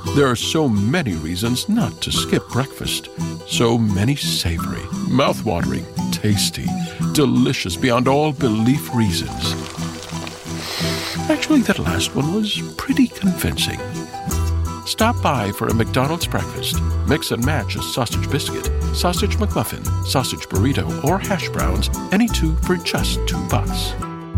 There are so many reasons not to skip breakfast. So many savory, mouth-watering, tasty, delicious beyond all belief reasons. Actually, that last one was pretty convincing. Stop by for a McDonald's breakfast. Mix and match a sausage biscuit, sausage McMuffin, sausage burrito, or hash browns, any two for just $2.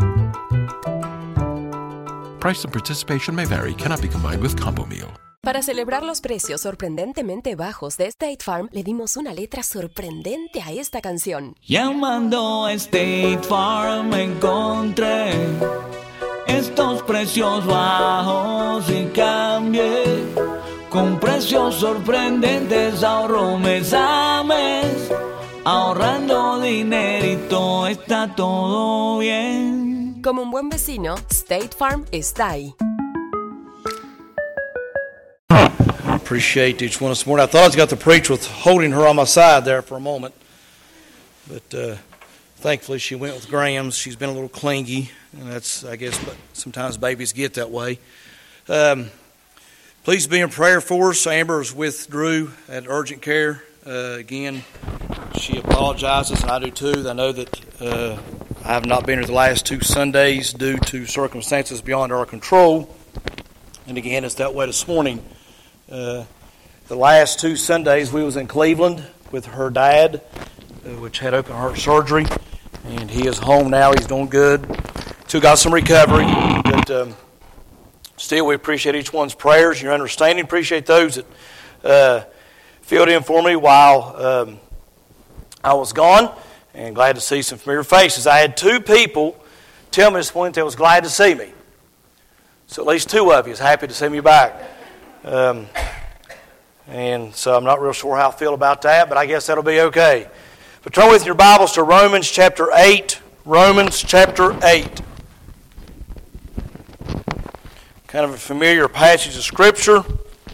Price and participation may vary, cannot be combined with combo meal. Para celebrar los precios sorprendentemente bajos de State Farm, le dimos una letra sorprendente a esta canción. Llamando a State Farm encontré estos precios bajos y cambié. Con precios sorprendentes ahorro mes a mes. Ahorrando dinerito está todo bien. Como un buen vecino, State Farm está ahí. Appreciate each one this morning. I thought I was going to preach with holding her on my side there for a moment, but thankfully she went with Graham's. She's been a little clingy, and that's, I guess, but sometimes babies get that way. Please be in prayer for us. Amber is with Drew at urgent care. Again, she apologizes, and I do too. I know that I have not been here the last 2 Sundays due to circumstances beyond our control, and again, it's that way this morning. The last 2 Sundays we was in Cleveland with her dad, which had open heart surgery, and he is home now. He's doing good. Still got some recovery, but still we appreciate each one's prayers, your understanding. Appreciate those that filled in for me while I was gone, and glad to see some familiar faces. I had 2 people tell me this morning they was glad to see me. So at least 2 of you is happy to see me back. And so I'm not real sure how I feel about that, but I guess that'll be okay. But turn with your Bibles to Romans chapter 8. Romans chapter 8. Kind of a familiar passage of Scripture.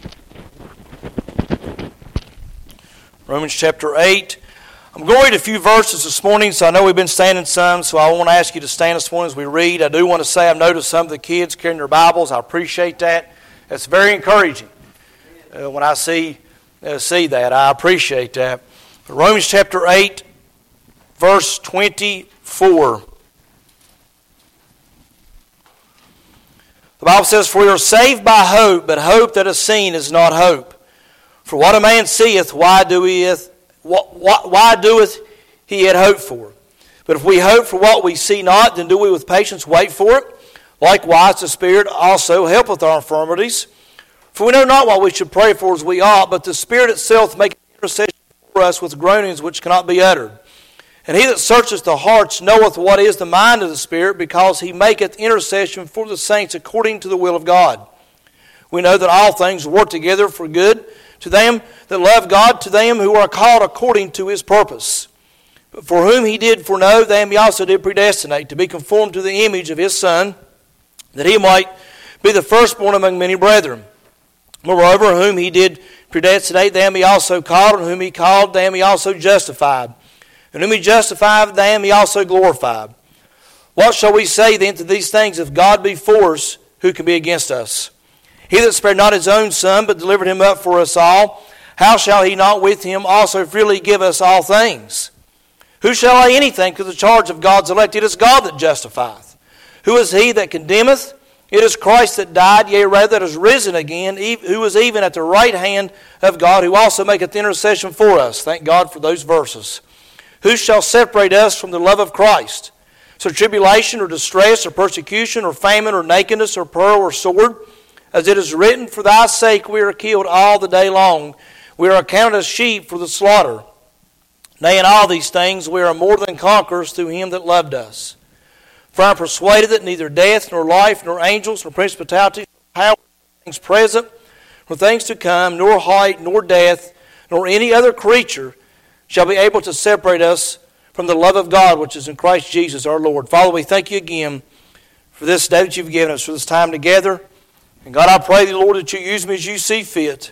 Romans chapter 8. I'm going to read a few verses this morning, so I know we've been standing some, so I want to ask you to stand this morning as we read. I do want to say I've noticed some of the kids carrying their Bibles. I appreciate that. That's very encouraging when I see that. I appreciate that. But Romans chapter 8, verse 24. The Bible says, "For we are saved by hope, but hope that is seen is not hope. For what a man seeth, why doeth he yet hope for? But if we hope for what we see not, then do we with patience wait for it? Likewise, the Spirit also helpeth our infirmities. For we know not what we should pray for as we ought, but the Spirit itself maketh intercession for us with groanings which cannot be uttered. And he that searcheth the hearts knoweth what is the mind of the Spirit, because he maketh intercession for the saints according to the will of God. We know that all things work together for good to them that love God, to them who are called according to his purpose. But for whom he did foreknow, them he also did predestinate, to be conformed to the image of his Son, that he might be the firstborn among many brethren. Moreover, whom he did predestinate, them he also called, and whom he called, them he also justified. And whom he justified, them he also glorified. What shall we say then to these things? If God be for us, who can be against us? He that spared not his own Son, but delivered him up for us all, how shall he not with him also freely give us all things? Who shall lay anything to the charge of God's elect? It is God that justifieth. Who is he that condemneth? It is Christ that died, yea, rather that is risen again, who is even at the right hand of God, who also maketh intercession for us." Thank God for those verses. "Who shall separate us from the love of Christ? So tribulation or distress or persecution or famine or nakedness or peril or sword? As it is written, for thy sake we are killed all the day long. We are accounted as sheep for the slaughter. Nay, in all these things we are more than conquerors through him that loved us. For I am persuaded that neither death, nor life, nor angels, nor principalities, nor powers, nor things present, nor things to come, nor height, nor depth, nor any other creature shall be able to separate us from the love of God which is in Christ Jesus our Lord." Father, we thank you again for this day that you've given us, for this time together. And God, I pray thee, Lord, that you use me as you see fit.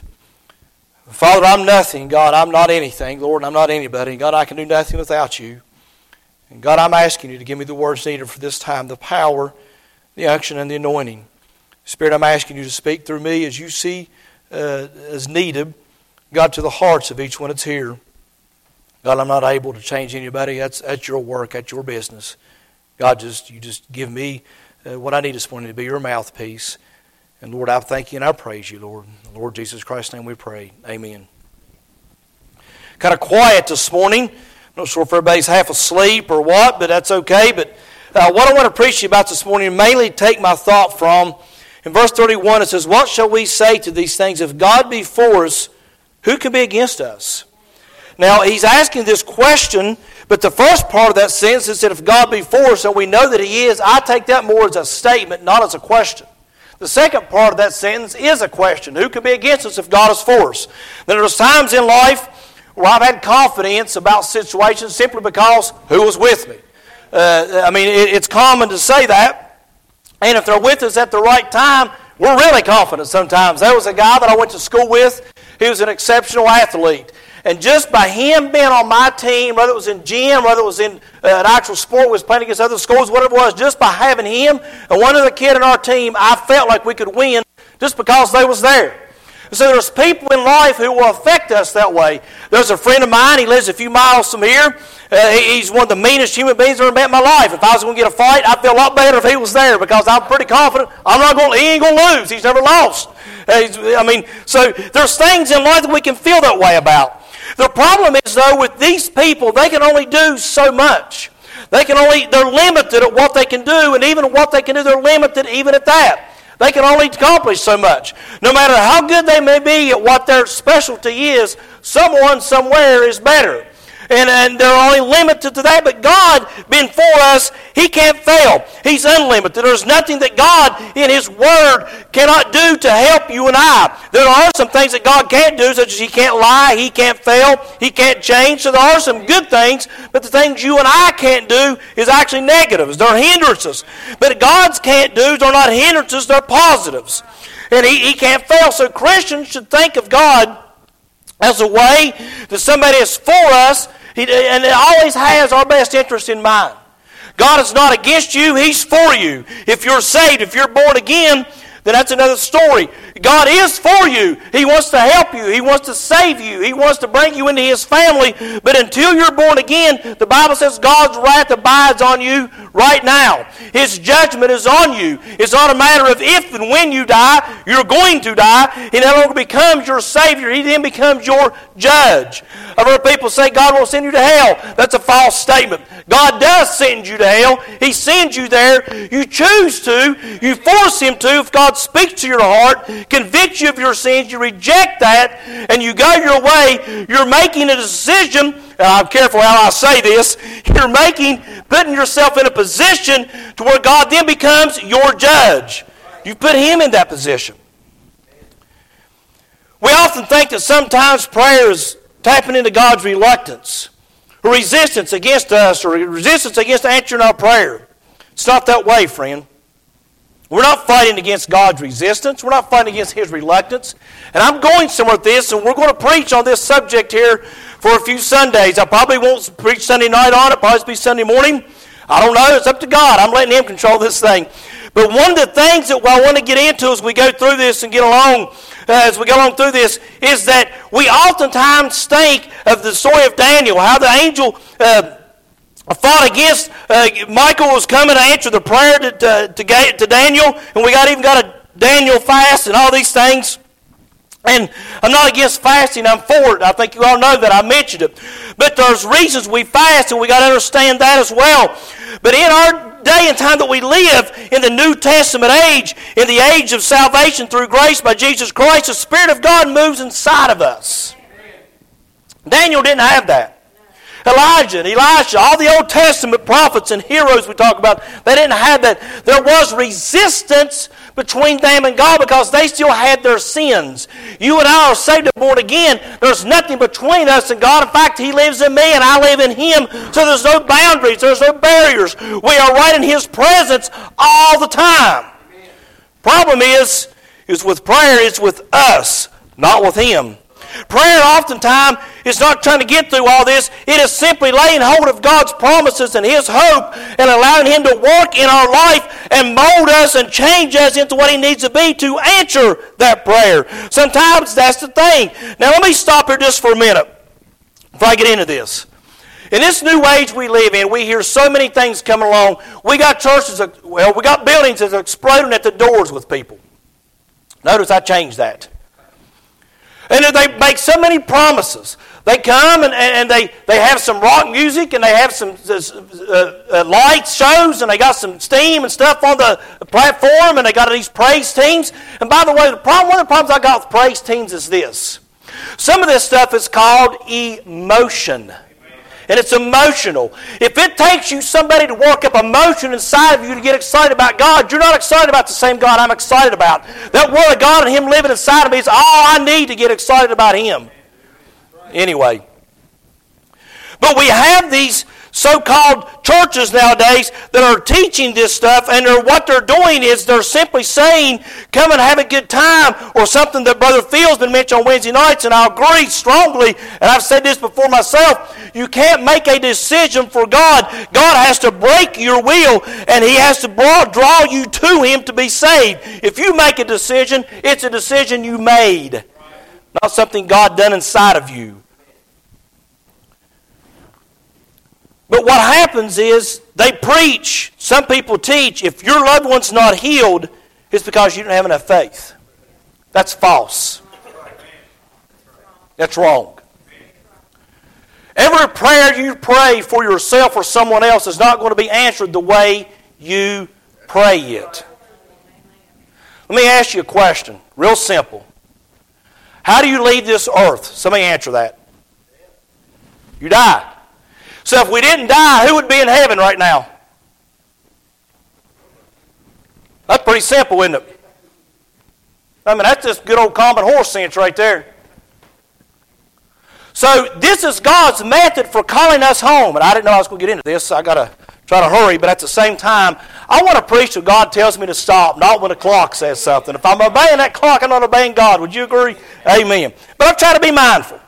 Father, I'm nothing. God, I'm not anything. Lord, I'm not anybody. God, I can do nothing without you. And God, I'm asking you to give me the words needed for this time, the power, the unction, and the anointing. Spirit, I'm asking you to speak through me as you see as needed, God, to the hearts of each one that's here. God, I'm not able to change anybody. That's your work. That's your business. God, you just give me what I need this morning to be your mouthpiece. And Lord, I thank you and I praise you, Lord. In the Lord Jesus Christ's name we pray. Amen. Kind of quiet this morning. I'm not sure if everybody's half asleep or what, but that's okay. But what I want to preach to you about this morning, mainly take my thought from, in verse 31, it says, what shall we say to these things? If God be for us, who can be against us? Now, he's asking this question, but the first part of that sentence is that if God be for us, and we know that he is, I take that more as a statement, not as a question. The second part of that sentence is a question. Who can be against us if God is for us? Then there's times in life where I've had confidence about situations simply because who was with me. It's common to say that. And if they're with us at the right time, we're really confident sometimes. There was a guy that I went to school with. He was an exceptional athlete. And just by him being on my team, whether it was in gym, whether it was in an actual sport, was playing against other schools, whatever it was, just by having him and one other kid in our team, I felt like we could win just because they was there. So there's people in life who will affect us that way. There's a friend of mine, he lives a few miles from here. He's one of the meanest human beings I've ever met in my life. If I was going to get a fight, I'd feel a lot better if he was there because I'm pretty confident he ain't going to lose. He's never lost. So there's things in life that we can feel that way about. The problem is, though, with these people, they can only do so much. They're limited at what they can do, and even what they can do, they're limited even at that. They can only accomplish so much. No matter how good they may be at what their specialty is, someone somewhere is better. And they're only limited to that. But God, being for us, he can't fail. He's unlimited. There's nothing that God, in his word, cannot do to help you and I. There are some things that God can't do, such as he can't lie, he can't fail, he can't change. So there are some good things, but the things you and I can't do is actually negatives. They're hindrances. But God's can't do's are not hindrances, they're positives. And he can't fail. So Christians should think of God as a way that somebody is for us, and it always has our best interest in mind. God is not against you, he's for you. If you're saved, if you're born again, then that's another story. God is for you. He wants to help you. He wants to save you. He wants to bring you into his family. But until you're born again, the Bible says God's wrath abides on you right now. His judgment is on you. It's not a matter of if and when you die, you're going to die. He no longer becomes your Savior. He then becomes your judge. I've heard people say God will send you to hell. That's a false statement. God does send you to hell. He sends you there. You choose to. You force him to. If God speaks to your heart, convicts you of your sins, you reject that, and you go your way, you're making a decision, and I'm careful how I say this, putting yourself in a position to where God then becomes your judge. You put him in that position. We often think that sometimes prayer is tapping into God's reluctance, or resistance against us, or resistance against answering our prayer. It's not that way, friend. We're not fighting against God's resistance. We're not fighting against his reluctance. And I'm going somewhere with this, and we're going to preach on this subject here for a few Sundays. I probably won't preach Sunday night on it. Probably be Sunday morning. I don't know. It's up to God. I'm letting him control this thing. But one of the things that I want to get into as we go through this and get along, as we go along through this, is that we oftentimes think of the story of Daniel, how the angel fought against, Michael was coming to answer the prayer to Daniel, and we even got a Daniel fast and all these things. And I'm not against fasting, I'm for it. I think you all know that, I mentioned it. But there's reasons we fast, and we got to understand that as well. But in our day and time that we live, in the New Testament age, in the age of salvation through grace by Jesus Christ, the Spirit of God moves inside of us. Daniel didn't have that. Elijah and Elisha, all the Old Testament prophets and heroes we talk about, they didn't have that. There was resistance between them and God because they still had their sins. You and I are saved and born again. There's nothing between us and God. In fact, he lives in me and I live in him. So there's no boundaries. There's no barriers. We are right in his presence all the time. Problem is with prayer, it's with us, not with him. Prayer oftentimes is not trying to get through all this. It is simply laying hold of God's promises and His hope and allowing Him to work in our life and mold us and change us into what He needs to be to answer that prayer. Sometimes that's the thing. Now let me stop here just for a minute before I get into this. In this new age we live in, we hear so many things coming along. We got churches, we got buildings that are exploding at the doors with people. Notice I changed that. And they make so many promises. They come and they have some rock music and they have some lights shows and they got some steam and stuff on the platform and they got these praise teams. And by the way, one of the problems I got with praise teams is this. Some of this stuff is called emotion. And it's emotional. If it takes you somebody to work up emotion inside of you to get excited about God, you're not excited about the same God I'm excited about. That Word of God and Him living inside of me is all I need to get excited about Him. Anyway. But we have these so-called churches nowadays that are teaching this stuff, and what they're doing is they're simply saying, come and have a good time, or something that Brother Phil's been mentioning on Wednesday nights, and I agree strongly, and I've said this before myself, you can't make a decision for God. God has to break your will, and He has to draw you to Him to be saved. If you make a decision, it's a decision you made, not something God done inside of you. But what happens is they preach, some people teach, if your loved one's not healed, it's because you don't have enough faith. That's false. That's wrong. Every prayer you pray for yourself or someone else is not going to be answered the way you pray it. Let me ask you a question, real simple. How do you leave this earth? Somebody answer that. You die. So if we didn't die, who would be in heaven right now? That's pretty simple, isn't it? I mean, that's just good old common horse sense right there. So this is God's method for calling us home. And I didn't know I was going to get into this, so I got to try to hurry. But at the same time, I want to preach when God tells me to stop, not when the clock says something. If I'm obeying that clock, I'm not obeying God. Would you agree? Amen. But I'll try to be mindful.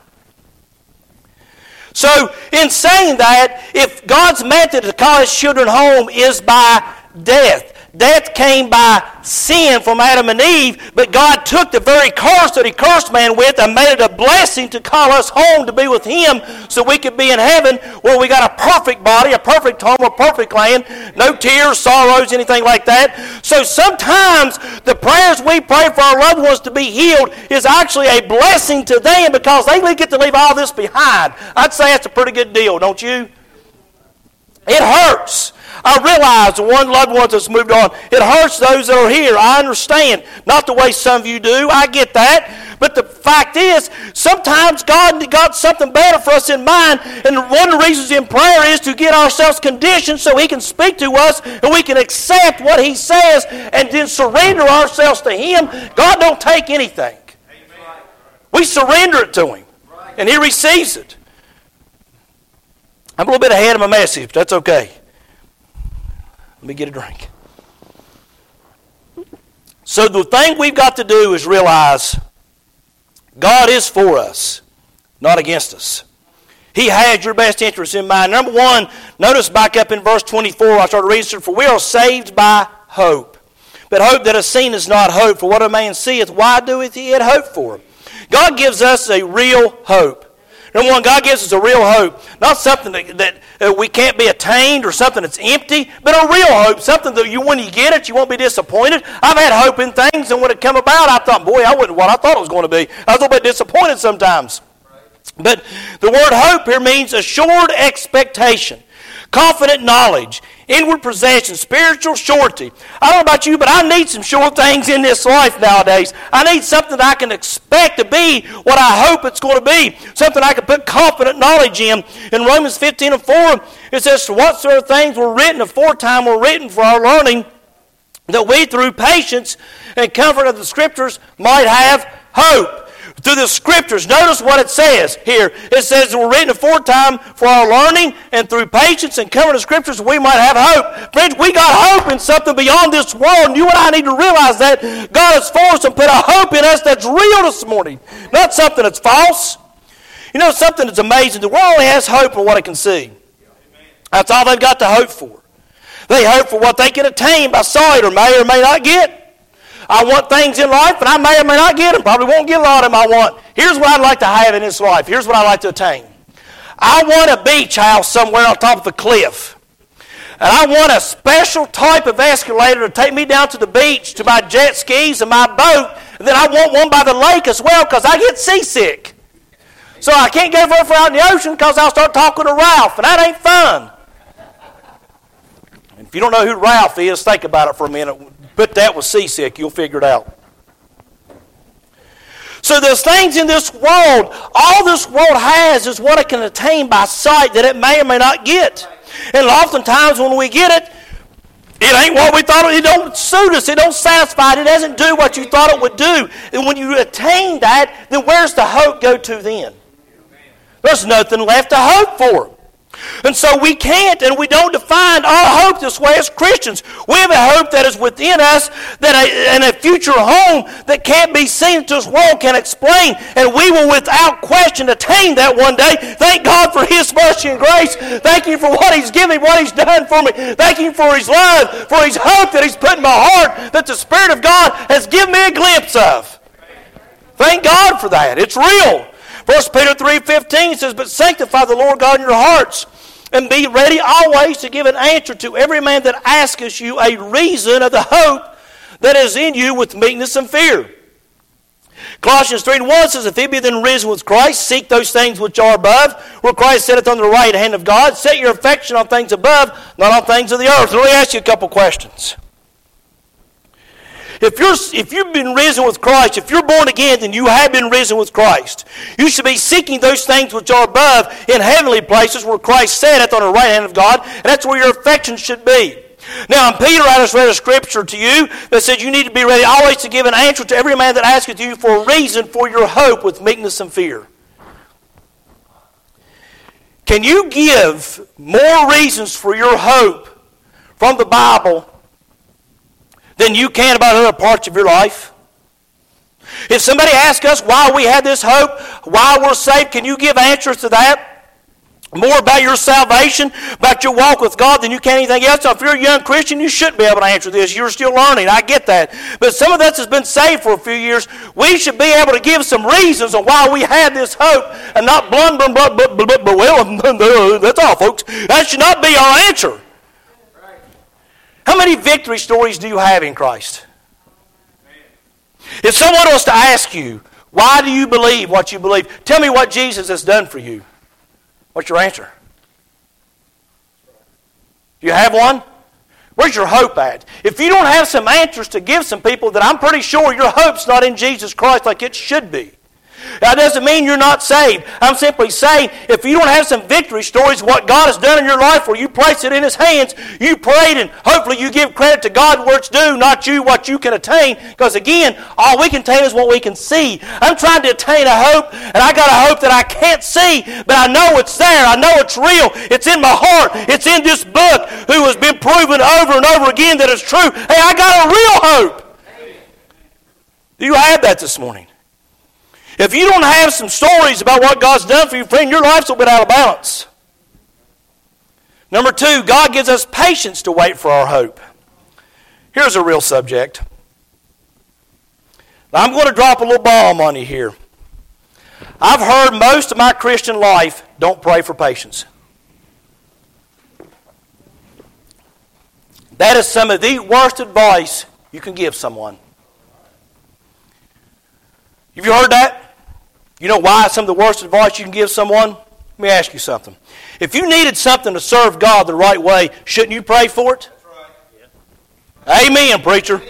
So, in saying that, if God's method to call His children home is by death, death came by sin from Adam and Eve, but God took the very curse that He cursed man with and made it a blessing to call us home to be with Him so we could be in heaven where we got a perfect body, a perfect home, a perfect land, no tears, sorrows, anything like that. So sometimes the prayers we pray for our loved ones to be healed is actually a blessing to them because they get to leave all this behind. I'd say that's a pretty good deal, don't you? It hurts. I realize the one loved one that's moved on, it hurts those that are here. I understand. Not the way some of you do. I get that. But the fact is, sometimes God got something better for us in mind. And one of the reasons in prayer is to get ourselves conditioned so He can speak to us and we can accept what He says and then surrender ourselves to Him. God don't take anything. We surrender it to Him. And He receives it. I'm a little bit ahead of my message, but that's okay. Let me get a drink. So the thing we've got to do is realize God is for us, not against us. He has your best interest in mind. Number one, notice back up in verse 24, I started reading, for we are saved by hope. But hope that is seen is not hope. For what a man seeth, why doeth he yet hope for him? God gives us a real hope. Number one, God gives us a real hope. Not something that we can't be attained or something that's empty, but a real hope. Something that when you get it, you won't be disappointed. I've had hope in things, and when it come about, I thought, boy, I wasn't what I thought it was going to be. I was a little bit disappointed sometimes. But the word hope here means assured expectation, confident knowledge, inward possession, spiritual surety. I don't know about you, but I need some sure things in this life nowadays. I need something that I can expect to be what I hope it's going to be. Something I can put confident knowledge in. In Romans 15:4, it says, whatsoever things were written aforetime were written for our learning, that we through patience and comfort of the Scriptures might have hope. through the Scriptures. Notice what it says here. It says we're written aforetime for our learning, and through patience and coming to Scriptures we might have hope. Friends, we got hope in something beyond this world, and you and I need to realize that God has for us and put a hope in us that's real this morning, not something that's false. You know, something that's amazing. The world only has hope for what it can see. That's all they've got to hope for. They hope for what they can attain by sight or may not get. I want things in life, and I may or may not get them. Probably won't get a lot of them I want. Here's what I'd like to have in this life. Here's what I'd like to attain. I want a beach house somewhere on top of a cliff. And I want a special type of escalator to take me down to the beach, to my jet skis and my boat. And then I want one by the lake as well because I get seasick. So I can't go very far out in the ocean because I'll start talking to Ralph, and that ain't fun. And if you don't know who Ralph is, think about it for a minute. Put that with seasick, you'll figure it out. So there's things in this world, all this world has is what it can attain by sight that it may or may not get. And oftentimes when we get it, it ain't what we thought. It don't suit us. It don't satisfy. It doesn't do what you thought it would do. And when you attain that, then where's the hope go to then? There's nothing left to hope for. And so we can't and we don't define our hope this way as Christians. We have a hope that is within us, and a future home that can't be seen that this world can explain. And we will without question attain that one day. Thank God for His mercy and grace. Thank Him for what He's given me, what He's done for me. Thank Him for His love, for His hope that He's put in my heart, that the Spirit of God has given me a glimpse of. Thank God for that. It's real. 1 Peter 3:15 says, "But sanctify the Lord God in your hearts, and be ready always to give an answer to every man that asketh you a reason of the hope that is in you with meekness and fear." Colossians 3:1 says, "If ye be then risen with Christ, seek those things which are above, where Christ sitteth on the right hand of God. Set your affection on things above, not on things of the earth." Let me ask you a couple questions. If you've been risen with Christ, if you're born again, then you have been risen with Christ. You should be seeking those things which are above in heavenly places where Christ sitteth on the right hand of God, and that's where your affection should be. Now, Peter, I just read a scripture to you that says you need to be ready always to give an answer to every man that asketh you for a reason for your hope with meekness and fear. Can you give more reasons for your hope from the Bible than you can about other parts of your life? If somebody asks us why we have this hope, why we're saved, can you give answers to that? More about your salvation, about your walk with God than you can anything else. Now, if you're a young Christian, you shouldn't be able to answer this. You're still learning. I get that. But some of us has been saved for a few years. We should be able to give some reasons on why we have this hope and not well, that's all, folks. That should not be our answer. How many victory stories do you have in Christ? If someone was to ask you, why do you believe what you believe? Tell me what Jesus has done for you. What's your answer? Do you have one? Where's your hope at? If you don't have some answers to give some people, then I'm pretty sure your hope's not in Jesus Christ like it should be. That doesn't mean you're not saved. I'm simply saying, if you don't have some victory stories, what God has done in your life, where you place it in His hands, you prayed, and hopefully you give credit to God where it's due, not you what you can attain. Because again, all we can attain is what we can see. I'm trying to attain a hope, and I got a hope that I can't see, but I know it's there. I know it's real. It's in my heart. It's in this book, who has been proven over and over again that it's true. Hey, I got a real hope. Do you have that this morning? If you don't have some stories about what God's done for you, friend, your life's a little bit out of balance. Number 2, God gives us patience to wait for our hope. Here's a real subject. Now, I'm going to drop a little bomb on you here. I've heard most of my Christian life, don't pray for patience. That is some of the worst advice you can give someone. Have you heard that? You know why it's some of the worst advice you can give someone? Let me ask you something. If you needed something to serve God the right way, shouldn't you pray for it? That's right. Yeah. Amen, preacher.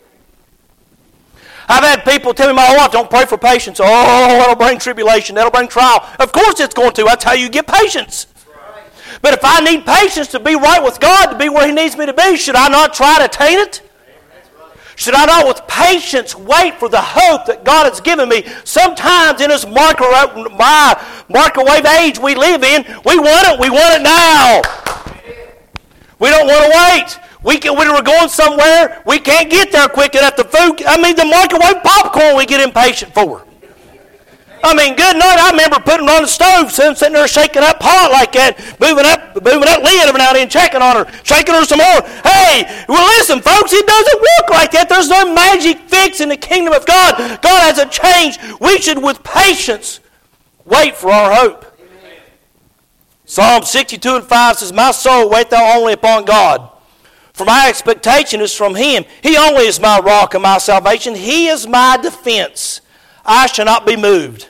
I've had people tell me my whole life, don't pray for patience. Oh, that'll bring tribulation. That'll bring trial. Of course it's going to. That's how you get patience. Right. But if I need patience to be right with God, to be where He needs me to be, should I not try to attain it? Should I not with patience wait for the hope that God has given me? Sometimes in this microwave age we live in, we want it now. We don't want to wait. When we're going somewhere, we can't get there quick enough. The microwave popcorn we get impatient for. Good night. I remember putting her on the stove, sitting there shaking that pot like that, moving that lid every now and then, checking on her, shaking her some more. Hey, well listen, folks, it doesn't work like that. There's no magic fix in the kingdom of God. God hasn't changed. We should, with patience, wait for our hope. Amen. Psalm 62:5 says, "My soul, wait thou only upon God. For my expectation is from Him. He only is my rock and my salvation. He is my defense. I shall not be moved."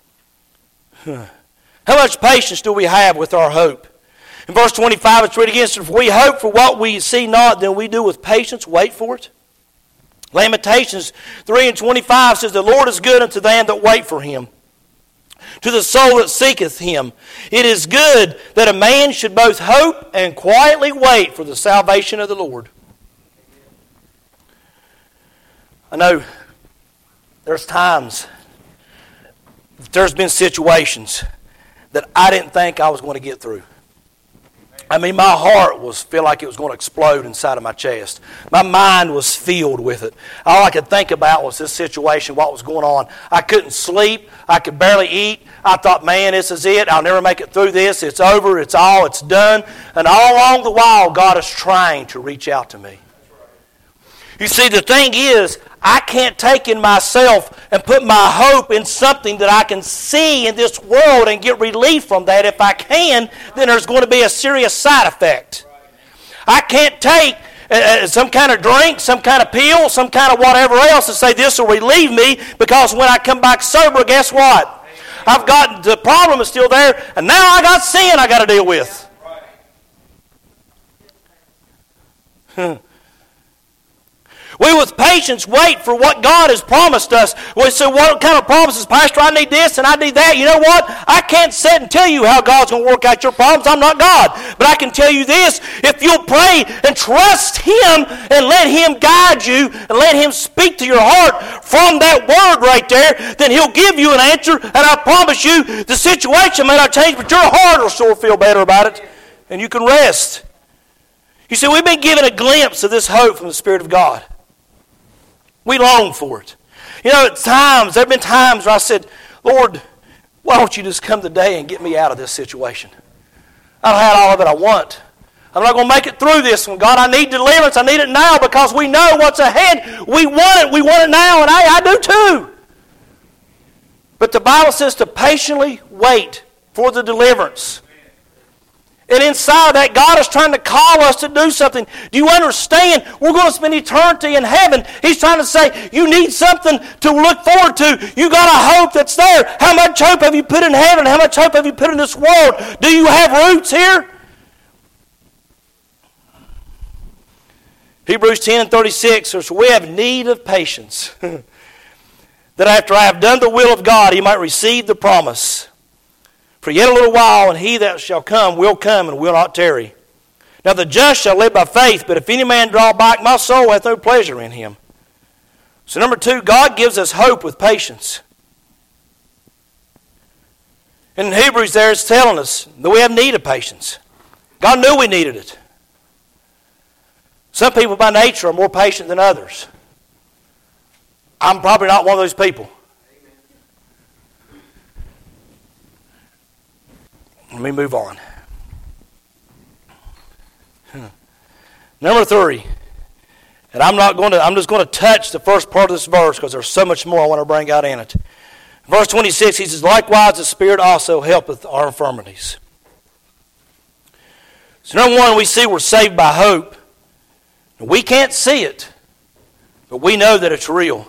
How much patience do we have with our hope? In verse 25, let's read again. "If we hope for what we see not, then we do with patience wait for it." Lamentations 3:25 says, "The Lord is good unto them that wait for Him, to the soul that seeketh Him. It is good that a man should both hope and quietly wait for the salvation of the Lord." I know there's times, there's been situations that I didn't think I was going to get through. My heart feel like it was going to explode inside of my chest. My mind was filled with it. All I could think about was this situation, what was going on. I couldn't sleep. I could barely eat. I thought, man, this is it. I'll never make it through this. It's over. It's done. And all along the while, God is trying to reach out to me. You see, the thing is, I can't take in myself and put my hope in something that I can see in this world and get relief from that. If I can, then there's going to be a serious side effect. I can't take some kind of drink, some kind of pill, some kind of whatever else and say this will relieve me, because when I come back sober, guess what? The problem is still there, and now I got sin I got to deal with. We with patience wait for what God has promised us. We say, what kind of promises? Pastor, I need this and I need that. You know what? I can't sit and tell you how God's going to work out your problems. I'm not God. But I can tell you this. If you'll pray and trust Him and let Him guide you and let Him speak to your heart from that word right there, then He'll give you an answer. And I promise you, the situation may not change, but your heart will sure feel better about it. And you can rest. You see, we've been given a glimpse of this hope from the Spirit of God. We long for it. There have been times where I said, Lord, why don't you just come today and get me out of this situation? I've had all of it I want. I'm not going to make it through this one. God, I need deliverance. I need it now, because we know what's ahead. We want it. We want it now, and I do too. But the Bible says to patiently wait for the deliverance. And inside of that, God is trying to call us to do something. Do you understand? We're going to spend eternity in heaven. He's trying to say, you need something to look forward to. You got a hope that's there. How much hope have you put in heaven? How much hope have you put in this world? Do you have roots here? Hebrews 10:36 says, we have need of patience, that after I have done the will of God, He might receive the promise. For yet a little while, and He that shall come will come and will not tarry. Now the just shall live by faith, but if any man draw back, my soul hath no pleasure in him. So number 2, God gives us hope with patience. And in Hebrews there it's telling us that we have need of patience. God knew we needed it. Some people by nature are more patient than others. I'm probably not one of those people. Let me move on. Number 3, and I'm just going to touch the first part of this verse because there's so much more I want to bring out in it. Verse 26, he says, likewise the Spirit also helpeth our infirmities. So number 1, we see we're saved by hope. We can't see it, but we know that it's real.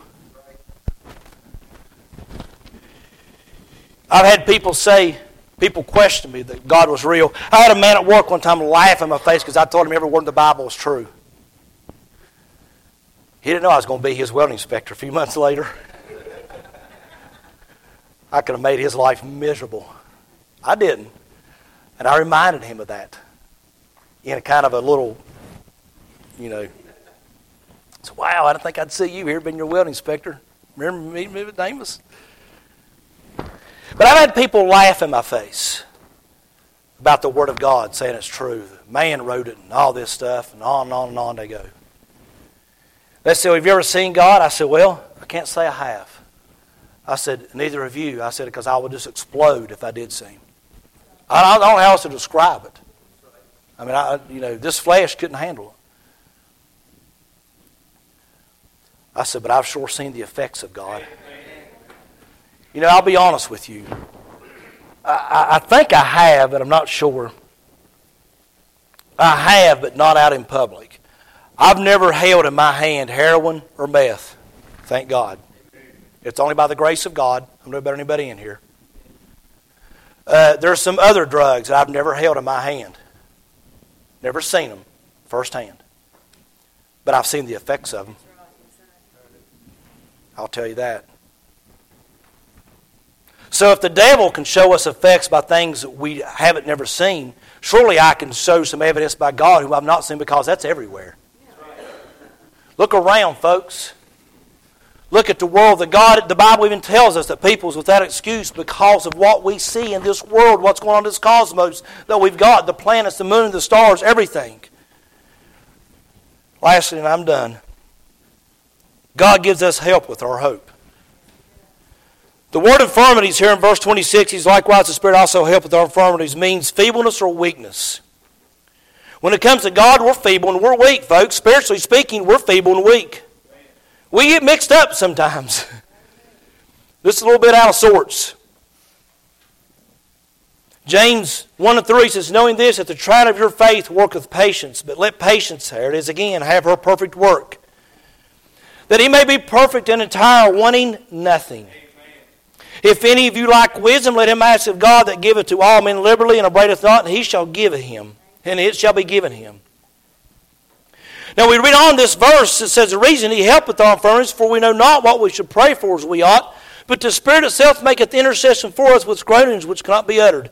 I've had people question me that God was real. I had a man at work one time laugh in my face because I told him every word in the Bible was true. He didn't know I was going to be his welding inspector a few months later. I could have made his life miserable. I didn't. And I reminded him of that in a kind of a little, So, wow, I didn't think I'd see you here being your welding inspector. Remember meeting me with Amos? But I've had people laugh in my face about the Word of God, saying it's true. Man wrote it and all this stuff, and on and on they go. They said, well, have you ever seen God? I said, well, I can't say I have. I said, neither have you. I said, because I would just explode if I did see Him. I don't know how else to describe it. I mean, this flesh couldn't handle it. I said, but I've sure seen the effects of God. I'll be honest with you. I think I have, but I'm not sure. I have, but not out in public. I've never held in my hand heroin or meth. Thank God. It's only by the grace of God. I'm no better than anybody in here. There's some other drugs that I've never held in my hand. Never seen them firsthand. But I've seen the effects of them. I'll tell you that. So if the devil can show us effects by things that we haven't never seen, surely I can show some evidence by God who I've not seen, because that's everywhere. Look around, folks. Look at the world. The Bible even tells us that people's without excuse because of what we see in this world, what's going on in this cosmos that we've got, the planets, the moon, the stars, everything. Lastly, and I'm done, God gives us help with our hope. The word infirmities here in verse 26, He's likewise the Spirit also help with our infirmities, means feebleness or weakness. When it comes to God, we're feeble and we're weak, folks. Spiritually speaking, we're feeble and weak. We get mixed up sometimes. This is a little bit out of sorts. James 1:3 says, knowing this, that the trial of your faith worketh patience, but let patience, there it is again, have her perfect work, that he may be perfect and entire, wanting nothing. If any of you lack wisdom, let him ask of God that giveth to all men liberally and upbraideth not, and He shall give it him, and it shall be given him. Now we read on this verse, it says, the reason He helpeth our infirmities, for we know not what we should pray for as we ought, but the Spirit itself maketh intercession for us with groanings which cannot be uttered.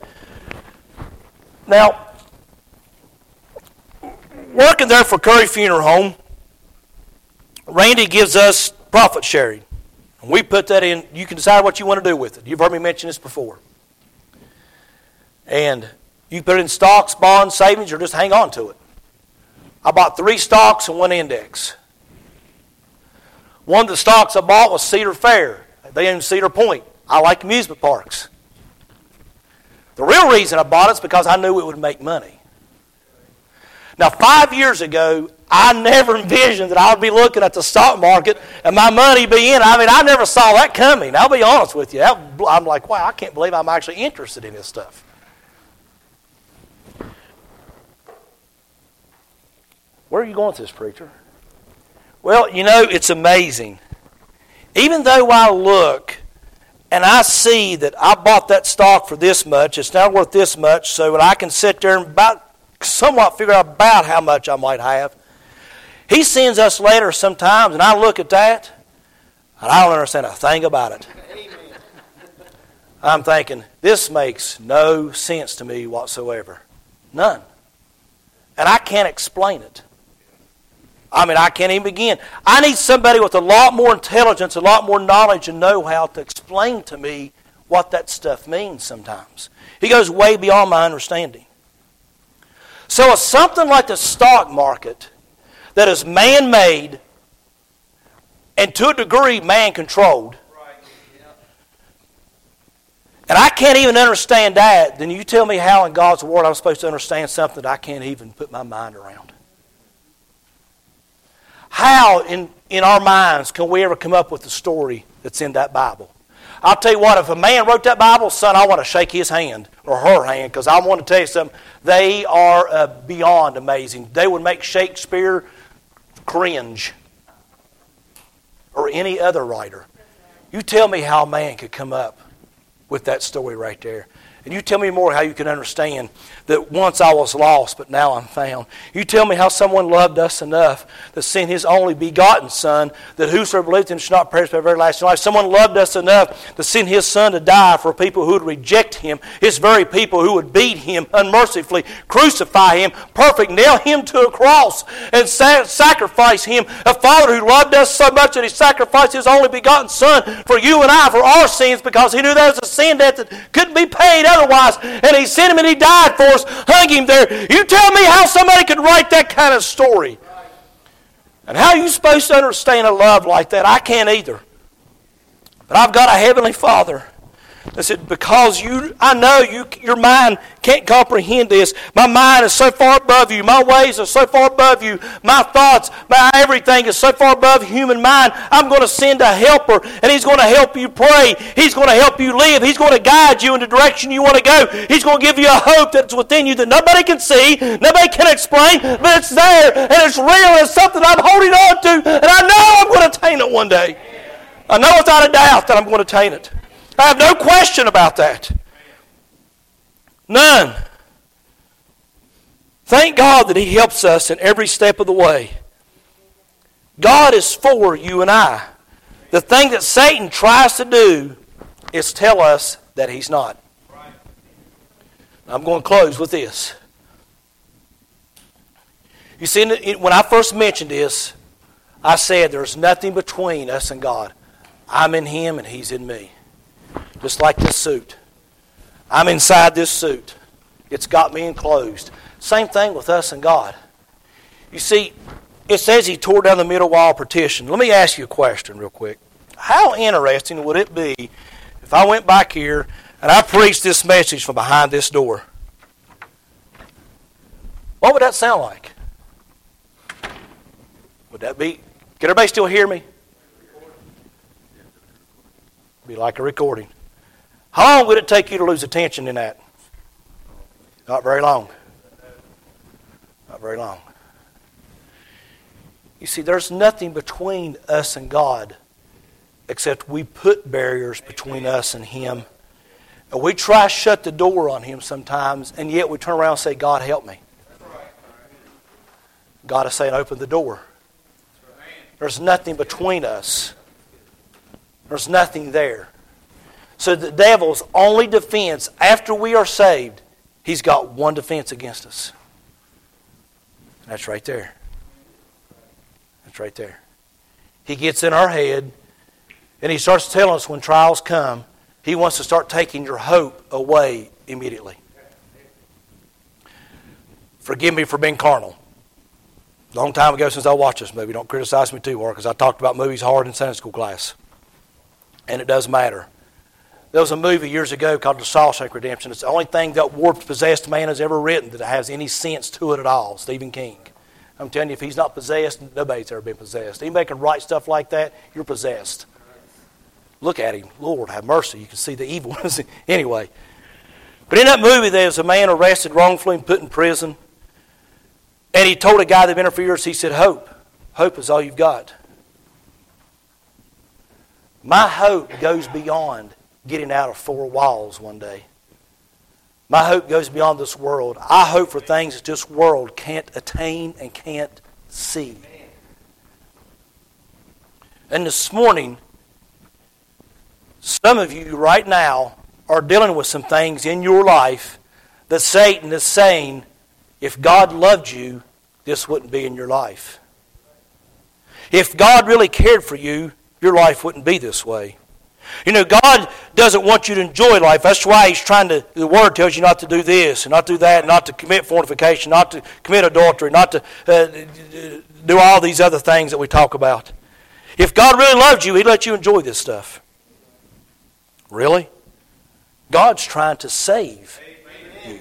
Now, working there for Curry Funeral Home, Randy gives us profit sharing. And we put that in, you can decide what you want to do with it. You've heard me mention this before. And you put it in stocks, bonds, savings, or just hang on to it. I bought 3 stocks and 1 index. One of the stocks I bought was Cedar Fair. They own Cedar Point. I like amusement parks. The real reason I bought it is because I knew it would make money. Now, 5 years ago, I never envisioned that I would be looking at the stock market and my money be in. I never saw that coming. I'll be honest with you. I'm like, wow, I can't believe I'm actually interested in this stuff. Where are you going with this, preacher? Well, it's amazing. Even though I look and I see that I bought that stock for this much, it's now worth this much, so that I can sit there and somewhat figure out about how much I might have. He sends us letters sometimes, and I look at that, and I don't understand a thing about it. I'm thinking, this makes no sense to me whatsoever. None. And I can't explain it. I can't even begin. I need somebody with a lot more intelligence, a lot more knowledge and know-how to explain to me what that stuff means sometimes. He goes way beyond my understanding. So it's something like the stock market that is man-made and to a degree man-controlled. And I can't even understand that. Then you tell me how in God's Word I'm supposed to understand something that I can't even put my mind around. How in our minds can we ever come up with the story that's in that Bible? I'll tell you what, if a man wrote that Bible, son, I want to shake his hand or her hand, because I want to tell you something. They are beyond amazing. They would make Shakespeare cringe or any other writer. You tell me how a man could come up with that story right there. And you tell me more how you can understand that once I was lost, but now I'm found. You tell me how someone loved us enough to send His only begotten Son, that whosoever believes in Him shall not perish but have everlasting life. Someone loved us enough to send His Son to die for people who would reject Him, His very people who would beat Him unmercifully, crucify Him, perfect, nail Him to a cross, and sacrifice Him. A Father who loved us so much that He sacrificed His only begotten Son for you and I, for our sins, because He knew there was a sin debt that couldn't be paid otherwise, and He sent Him and He died for us, hung Him there. You tell me how somebody could write that kind of story. And how are you supposed to understand a love like that? I can't either. But I've got a Heavenly Father that said, because I know your mind can't comprehend this. My mind is so far above you. My ways are so far above you. My thoughts, my everything is so far above human mind. I'm going to send a helper, and He's going to help you pray. He's going to help you live. He's going to guide you in the direction you want to go. He's going to give you a hope that's within you that nobody can see, nobody can explain, but it's there, and it's real, and it's something I'm holding on to, and I know I'm going to attain it one day. I know without a doubt that I'm going to attain it. I have no question about that. None. Thank God that He helps us in every step of the way. God is for you and I. The thing that Satan tries to do is tell us that He's not. I'm going to close with this. You see, when I first mentioned this, I said there's nothing between us and God. I'm in Him and He's in me. Just like this suit. I'm inside this suit. It's got me enclosed. Same thing with us and God. You see, it says He tore down the middle wall of partition. Let me ask you a question real quick. How interesting would it be if I went back here and I preached this message from behind this door? What would that sound like? Would that be... Can everybody still hear me? Be like a recording. How long would it take you to lose attention in that? Not very long. Not very long. You see, there's nothing between us and God except we put barriers between us and Him. And we try to shut the door on Him sometimes, and yet we turn around and say, God, help me. God is saying, open the door. There's nothing between us. There's nothing there. So the devil's only defense after we are saved, he's got one defense against us. And that's right there. That's right there. He gets in our head and he starts telling us when trials come, he wants to start taking your hope away immediately. Forgive me for being carnal. A long time ago since I watched this movie. Don't criticize me too hard because I talked about movies hard in Sunday school class. And it does matter. There was a movie years ago called The Shawshank Redemption. It's the only thing that warped, possessed man has ever written that has any sense to it at all. Stephen King. I'm telling you, if he's not possessed, nobody's ever been possessed. Anybody can write stuff like that, you're possessed. Look at him. Lord, have mercy. You can see the evil. Anyway. But in that movie, there was a man arrested wrongfully and put in prison. And he told a guy that had been there for years, he said, hope. Hope is all you've got. My hope goes beyond getting out of four walls one day. My hope goes beyond this world. I hope for things that this world can't attain and can't see. And this morning, some of you right now are dealing with some things in your life that Satan is saying, if God loved you, this wouldn't be in your life. If God really cared for you, your life wouldn't be this way. You know, God doesn't want you to enjoy life. That's why He's trying to, the Word tells you not to do this, and not do that, not to commit fornication, not to commit adultery, not to do all these other things that we talk about. If God really loved you, He'd let you enjoy this stuff. Really? God's trying to save you.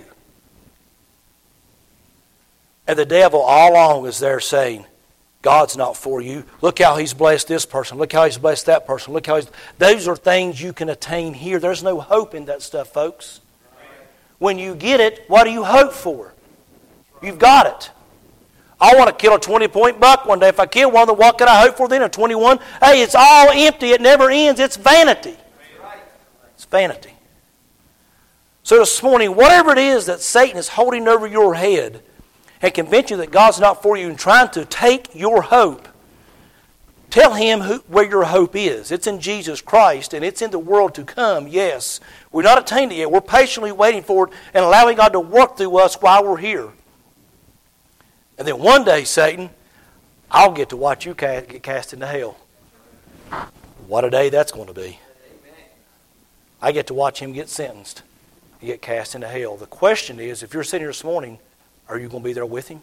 And the devil all along is there saying, God's not for you. Look how He's blessed this person. Look how He's blessed that person. Look how those are things you can attain here. There's no hope in that stuff, folks. When you get it, what do you hope for? You've got it. I want to kill a 20-point buck one day. If I kill one, then what can I hope for then? A 21? Hey, it's all empty. It never ends. It's vanity. It's vanity. So this morning, whatever it is that Satan is holding over your head and convince you that God's not for you and trying to take your hope, tell him where your hope is. It's in Jesus Christ, and it's in the world to come, yes. We're not attained it yet. We're patiently waiting for it and allowing God to work through us while we're here. And then one day, Satan, I'll get to watch you get cast into hell. What a day that's going to be. I get to watch him get sentenced. You get cast into hell. The question is, if you're sitting here this morning, are you going to be there with him?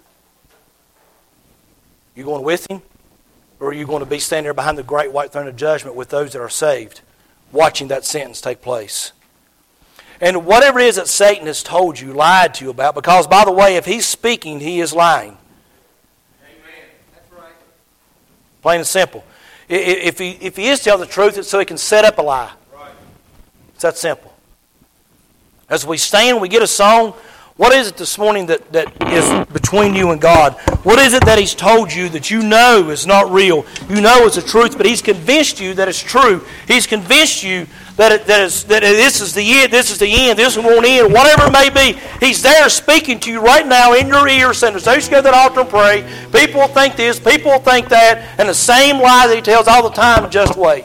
You going with him? Or are you going to be standing there behind the great white throne of judgment with those that are saved, watching that sentence take place? And whatever it is that Satan has told you, lied to you about, because, by the way, if he's speaking, he is lying. Amen. That's right. Plain and simple. If he is telling the truth, it's so he can set up a lie. Right. It's that simple. As we stand, we get a song. What is it this morning that is between you and God? What is it that he's told you that you know is not real? You know it's the truth, but he's convinced you that it's true. He's convinced you that this is the end, this won't end, whatever it may be. He's there speaking to you right now in your ear, saying, so you should go to that altar and pray. People will think this, people will think that, and the same lie that he tells all the time, just wait.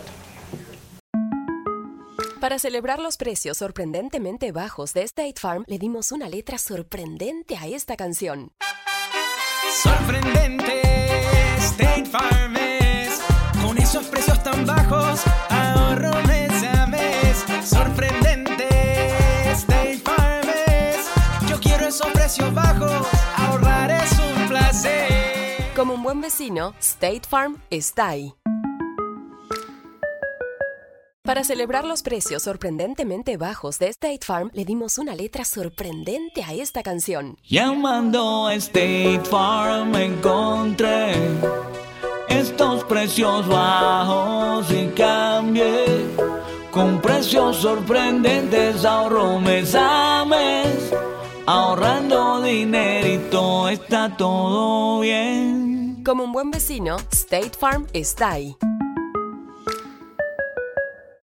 Para celebrar los precios sorprendentemente bajos de State Farm, le dimos una letra sorprendente a esta canción. Sorprendente, State Farm es, con esos precios tan bajos, ahorro mes a mes. Sorprendente, State Farm es, yo quiero esos precios bajos, ahorrar es un placer. Como un buen vecino, State Farm está ahí. Para celebrar los precios sorprendentemente bajos de State Farm, le dimos una letra sorprendente a esta canción. Llamando a State Farm encontré estos precios bajos y cambié. Con precios sorprendentes ahorro mes a mes. Ahorrando dinerito está todo bien. Como un buen vecino, State Farm está ahí.